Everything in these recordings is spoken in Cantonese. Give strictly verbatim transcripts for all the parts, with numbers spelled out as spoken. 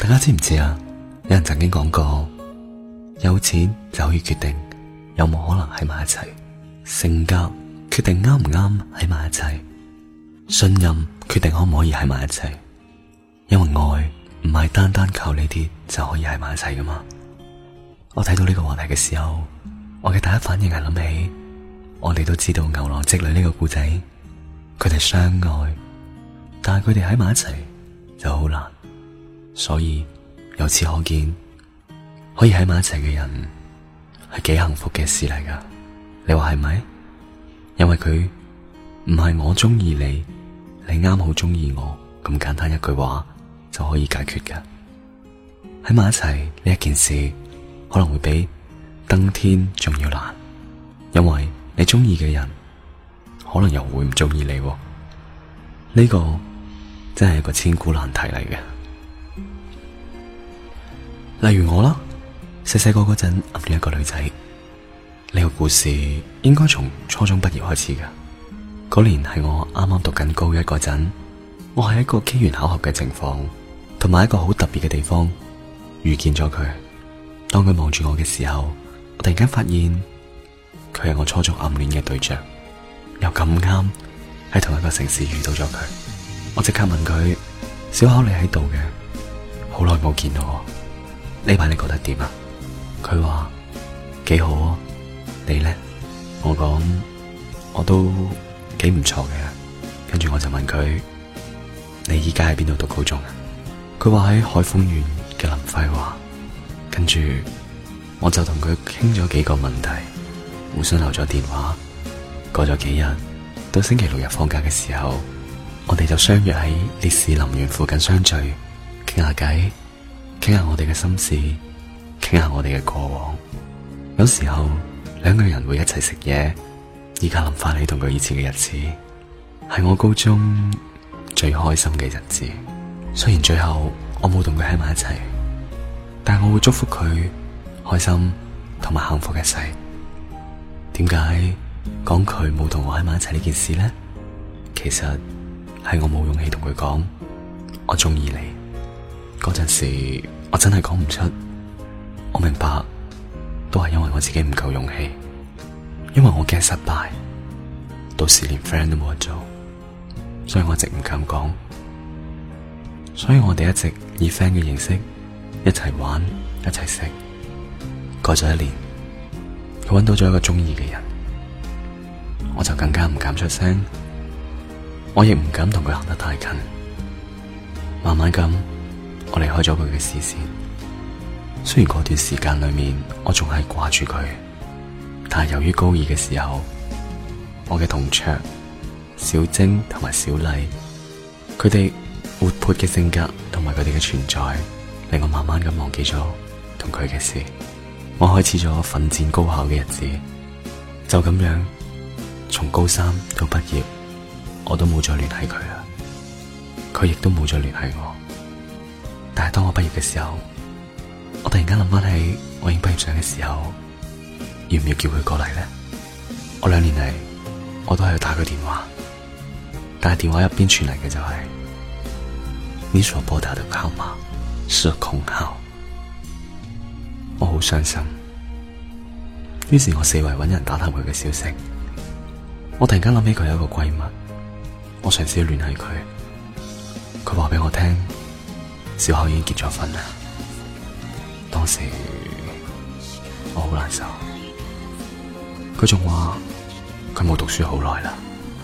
大家知唔知啊？有人曾經講過，有錢就可以決定有冇可能喺埋一齊，性格決定啱唔啱喺埋一齊，信任決定可唔可以喺埋一齊。因為愛唔係單單靠呢啲就可以喺埋一齊噶嘛。我睇到呢個話題嘅時候，我嘅第一反應係諗起我哋都知道牛郎織女呢個故仔，佢哋相愛，但係佢哋喺埋一齊就好難。所以由此可見，可以喺埋一齊嘅人係幾幸福嘅事嚟噶。你話係咪？因為佢唔係我中意你，你啱好中意我咁簡單一句話就可以解決噶。喺埋一齊呢一件事可能會比登天仲要難，因為你中意嘅人可能又會唔中意你。呢個真係一個千古難題嚟嘅。例如我啦，細細個嗰陣暗戀一個女仔，呢個故事應該從初中畢業開始噶。嗰年係我啱啱讀緊高一嗰陣，我係一個機緣巧合嘅情況，同埋一個好特別嘅地方遇見咗佢。當佢望住我嘅時候，我突然間發現佢係我初中暗戀嘅對象，又咁啱喺同一個城市遇到咗佢。我即刻問佢：小巧，你喺度嘅？好耐冇見到，呢排你覺得點啊？佢話幾好啊。你呢？我講我都幾唔錯嘅。跟住我就問佢：你依家喺邊度讀高中啊？佢話喺海豐縣嘅林輝華。跟住我就同佢傾咗幾個問題，互相留咗電話。過咗幾日，到星期六日放假嘅時候，我哋就相約喺烈士陵園附近相聚，傾下偈，傾下我哋嘅心事，傾下我哋嘅過往。有時候兩個人會一齊食嘢。依家諗翻起同佢以前嘅日子，係我高中最開心嘅日子。雖然最後我冇同佢喺埋一齊，但係我會祝福佢開心同埋幸福一世。點解講佢冇同我喺埋一齊呢件事呢？其實係我冇勇氣同佢講我中意你。嗰陣時我真係講唔出。我明白，都係因為我自己唔夠勇氣，因為我驚失敗，到時連 friend 都冇得做，所以我一直唔敢講。所以我哋一直以 friend 嘅形式一齊玩一齊食。過咗一年，佢搵到咗一個中意嘅人，我就更加唔敢出聲，我亦唔敢同佢行得太近。慢慢咁，我離開咗佢嘅視線。雖然嗰段時間裏面我仲係掛住佢，但係由於高二嘅時候，我嘅同桌小晶同埋小麗，佢哋活潑嘅性格同埋佢哋嘅存在，令我慢慢咁忘記咗同佢嘅事。我開始咗奮戰高考嘅日子，就咁樣從高三到畢業，我都冇再聯繫佢啦，佢亦都冇再聯繫我。但係當我畢業嘅時候，我突然間諗翻起我影畢業相嘅時候，要唔要叫佢過嚟呢？我兩年嚟我都係打佢電話，但係電話入邊傳嚟嘅就係、是、你所撥打的號碼是空號。我好傷心，於是我四圍揾人打探佢嘅消息。我突然間諗起佢有一個閨蜜，我嘗試去聯繫佢，佢話俾我聽小巧已經結咗婚啦。當時我好難受，佢仲話佢冇讀書好耐啦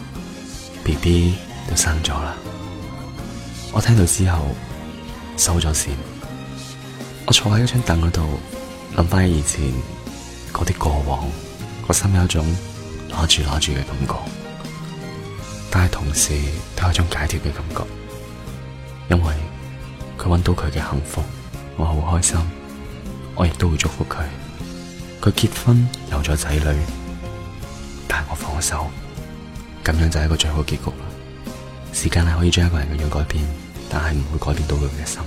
，B B 都生咗啦。我聽到之後收咗線，我坐喺嗰張凳嗰度諗翻起以前嗰啲過往，個心有一種拿住拿住嘅感覺，但係同時都有一種解脫嘅感覺，因為佢搵到佢嘅幸福，我好開心。我亦都會祝福佢，佢結婚有咗仔女，但係我放手，咁樣就係一個最好結局啦。時間係可以將一個人嘅樣改變，但係唔會改變到佢嘅心。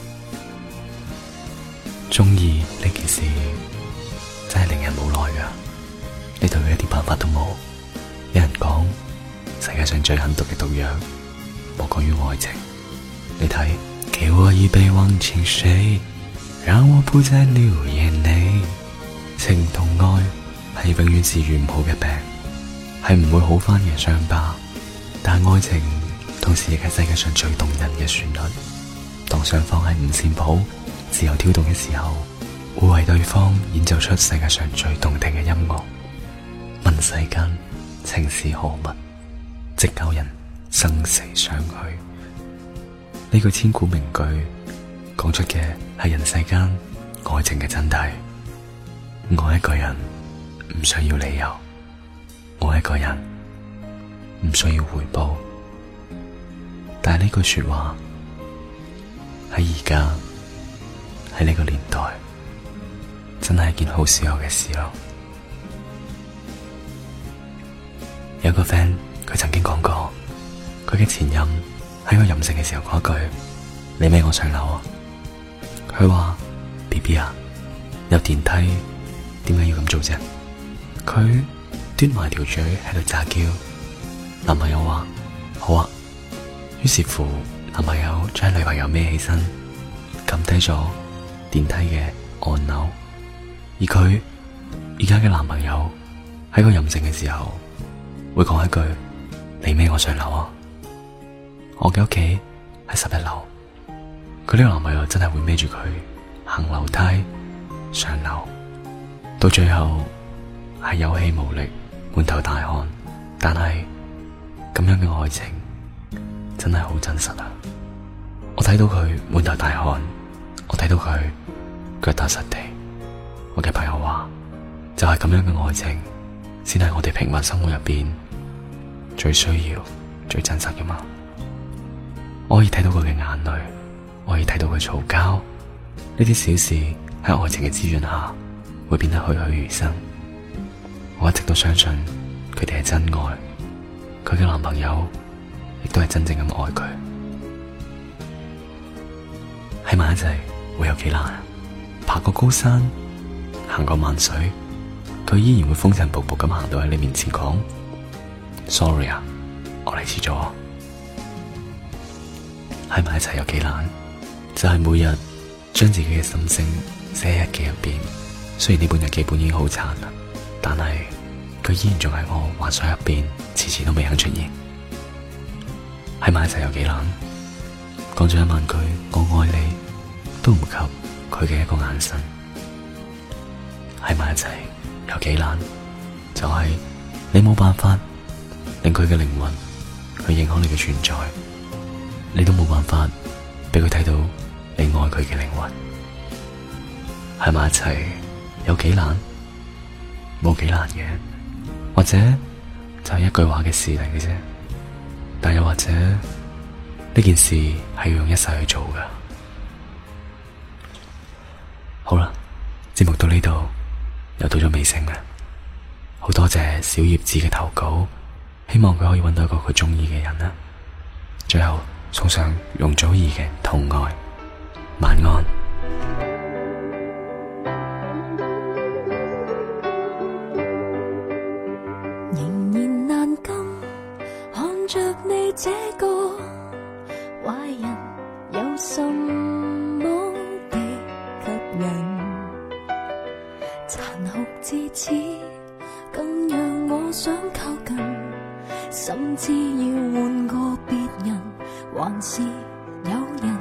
中意呢件事真係令人無奈噶，你對佢一啲辦法都冇。有人講世界上最狠毒嘅毒藥莫過於愛情，你睇給我一杯忘情水，讓我不再流眼淚。情同愛係永遠治愈唔好嘅病，係唔會好翻嘅傷疤。但愛情同時亦係世界上最動人嘅旋律。當雙方喺五線譜自由跳動嘅時候，會為對方演奏出世界上最動聽嘅音樂。問世間情是何物，直教人生死相許。呢句千古名句講出嘅係人世間愛情嘅真諦。愛一個人唔需要理由，愛一個人唔需要回報。但係呢句說話喺而家喺呢個年代真係一件好少有嘅事咯。有個 friend 佢曾經講過，佢嘅前任喺我任性嘅時候講一句：你孭我上樓啊！佢話 B B 啊，有電梯點解要咁做啫？佢端埋條嘴喺度詐嬌。男朋友話好啊，於是乎男朋友將女朋友孭起身，撳低咗電梯嘅按鈕。而佢而家嘅男朋友喺個任性嘅時候會講一句：你孭我上樓啊！我嘅屋企喺十一樓，佢呢個男朋友真係會孭住佢行樓梯上樓，到最後係有氣無力，滿頭大汗。但係咁樣嘅愛情真係好真實啊！我睇到佢滿頭大汗，我睇到佢腳踏實地。我嘅朋友話，就係咁樣嘅愛情先係我哋平凡生活入邊最需要最真實嘅嘛。我可以睇到佢嘅眼淚，我可以睇到佢嘈交，呢啲小事喺愛情嘅滋潤下會變得栩栩如生。我一直都相信佢哋係真愛，佢嘅男朋友亦都係真正咁愛佢。喺埋一齊會有幾難？爬過高山，行過萬水，佢依然會風塵僕僕咁行到喺你面前講 sorry 啊，我嚟遲咗。喺埋一齊有幾難？就係、是、每日將自己嘅心聲寫喺日記入邊。雖然呢本日記本已經好殘啦，但係佢依然仲喺我幻想入邊，遲遲都未肯出現。喺埋一齊有幾難？講咗一萬句我愛你，都唔及佢嘅一個眼神。喺埋一齊有幾難？就係、是、你冇辦法令佢嘅靈魂去認可你嘅存在，你都冇辦法俾佢睇到你愛佢嘅靈魂。喺埋一齊有幾難？冇幾難嘅，或者就係一句話嘅事嚟嘅啫。但又或者呢件事係要用一世去做噶。好啦，節目到呢度又到咗尾聲啦。好多謝小葉子嘅投稿，希望佢可以揾到一個佢中意嘅人啦。最後送上容祖兒嘅《痛愛》，晚安。 仍然難禁看着你這個壞人，有什麼的吸引？殘酷至此，更讓我想靠近，甚至要換個別人，還是有人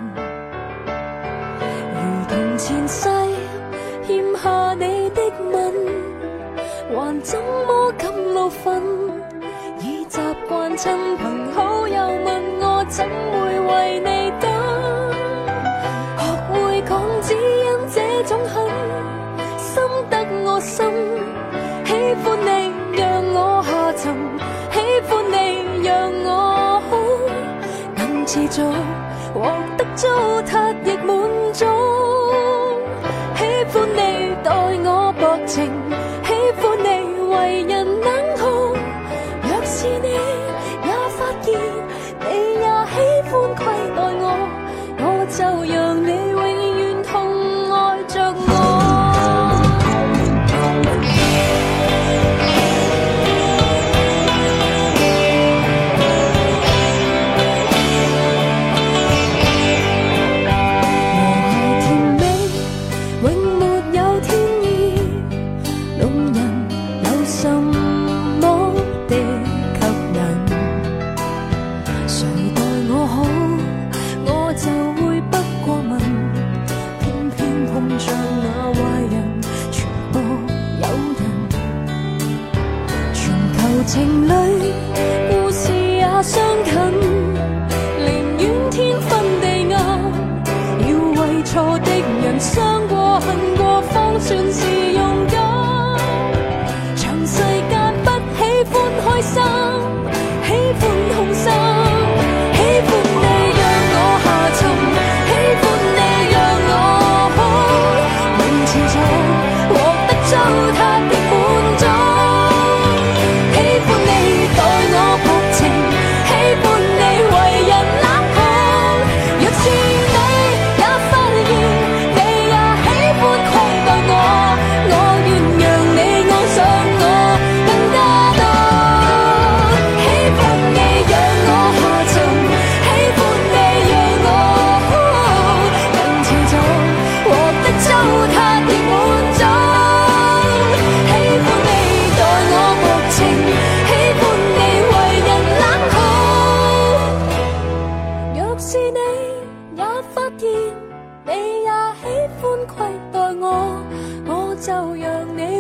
如同前世欠下你的吻，還怎麼敢怒憤？已習慣親朋好友問我怎會為你等，學會講只因這種恨，深得我心。喜歡你讓我下沉，喜歡你讓我好，能持續獲得糟蹋亦滿足。喜歡你待我薄情，喜歡你為人冷酷。若是你也發現你也喜歡虧待我，我就讓你永遠痛愛着我。 錯的人，傷過恨過方算是勇敢。長世間不喜歡開心，喜歡痛心，喜歡你讓我下沉，喜歡你讓我哭，能持續獲得糟蹋的滿足。喜歡你待我薄情，喜歡你為人冷酷。若是你也發現，你也喜歡虧待我，我願讓你愛上我更加多。喜歡你讓我下沉，喜歡你讓我哭，能持續獲得糟蹋的滿足。喜歡你待我薄情，喜歡你為人冷酷。若是你也發現，你也喜歡虧待我，我就讓你